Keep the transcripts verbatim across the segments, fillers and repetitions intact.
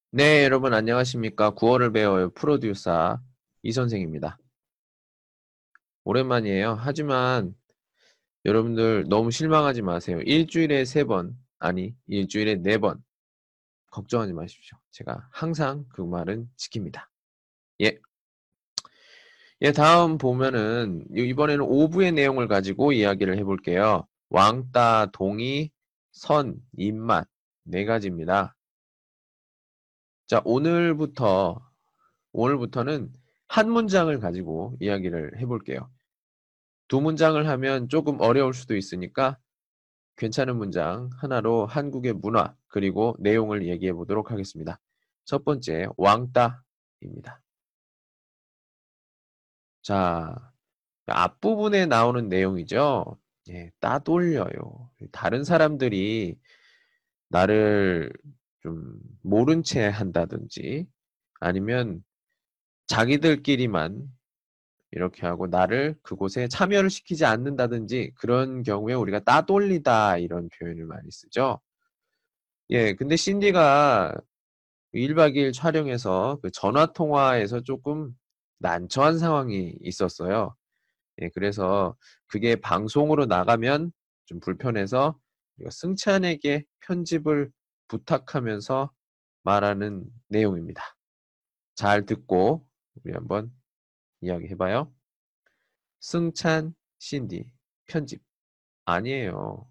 네, 여러분 안녕하십니까? 구월을 배워요 프로듀서 이 선생입니다. 오랜만이에요. 하지만 여러분들 너무 실망하지 마세요. 일주일에 세 번, 아니 일주일에 네 번 걱정하지 마십시오. 제가 항상 그 말은 지킵니다. 예. 예, 다음 보면은 이번에는 오 부의 내용을 가지고 이야기를 해볼게요. 왕따, 동의, 선, 입맛 네 가지입니다. 자, 오늘부터 오늘부터는 한 문장을 가지고 이야기를 해볼게요. 두 문장을 하면 조금 어려울 수도 있으니까 괜찮은 문장 하나로 한국의 문화 그리고 내용을 얘기해 보도록 하겠습니다. 첫 번째, 왕따입니다. 자, 앞부분에 나오는 내용이죠. 예, 따돌려요. 다른 사람들이 나를 좀 모른 채 한다든지 아니면 자기들끼리만 이렇게 하고 나를 그곳에 참여를 시키지 않는다든지 그런 경우에 우리가 따돌리다 이런 표현을 많이 쓰죠. 예, 근데 신디가 일 박 이 일 촬영해서 그 전화 통화에서 조금 난처한 상황이 있었어요. 예, 그래서 그게 방송으로 나가면 좀 불편해서 우리가 승찬에게 편집을 부탁하면서 말하는 내용입니다. 잘 듣고 우리 한번 이야기해봐요. 승찬, 신디, 편집. 아니에요.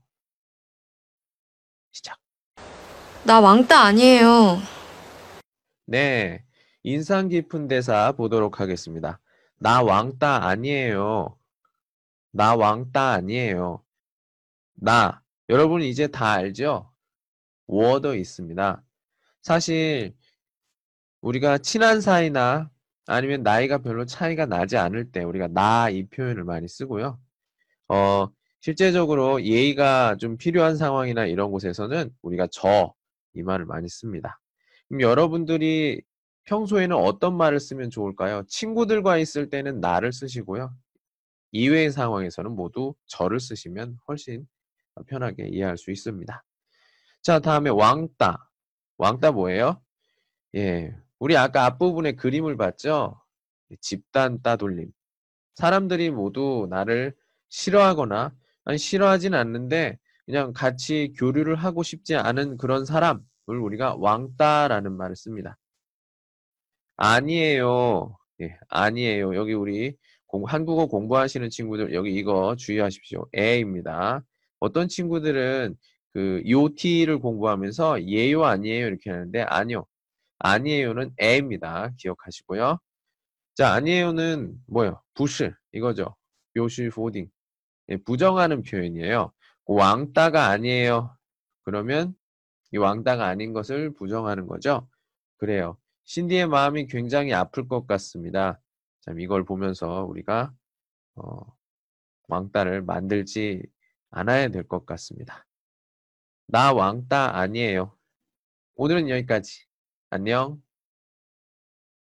시작. 나 왕따 아니에요. 네. 인상 깊은 대사 보도록 하겠습니다. 나 왕따 아니에요. 나 왕따 아니에요. 나. 여러분 이제 다 알죠? 워더 있습니다. 사실 우리가 친한 사이나 아니면 나이가 별로 차이가 나지 않을 때 우리가 나 이 표현을 많이 쓰고요. 어, 실제적으로 예의가 좀 필요한 상황이나 이런 곳에서는 우리가 저 이 말을 많이 씁니다. 그럼 여러분들이 평소에는 어떤 말을 쓰면 좋을까요? 친구들과 있을 때는 나를 쓰시고요. 이외의 상황에서는 모두 저를 쓰시면 훨씬 편하게 이해할 수 있습니다. 자, 다음에 왕따. 왕따 뭐예요? 예, 우리 아까 앞부분에 그림을 봤죠? 집단 따돌림. 사람들이 모두 나를 싫어하거나 아니 싫어하진 않는데 그냥 같이 교류를 하고 싶지 않은 그런 사람을 우리가 왕따라는 말을 씁니다. 아니에요. 예, 아니에요. 여기 우리 공, 한국어 공부하시는 친구들 여기 이거 주의하십시오. 에입니다. 어떤 친구들은 그 요티를 공부하면서 예요 아니에요 이렇게 하는데 아니요. 아니에요는 에입니다. 기억하시고요. 자, 아니에요는 뭐예요? 부실 이거죠. 묘시 포딩. 예, 부정하는 표현이에요. 왕따가 아니에요. 그러면 이 왕따가 아닌 것을 부정하는 거죠. 그래요. 신디의 마음이 굉장히 아플 것 같습니다. 참 이걸 보면서 우리가 어, 왕따를 만들지 않아야 될 것 같습니다. 나 왕따 아니에요. 오늘은 여기까지. 안녕.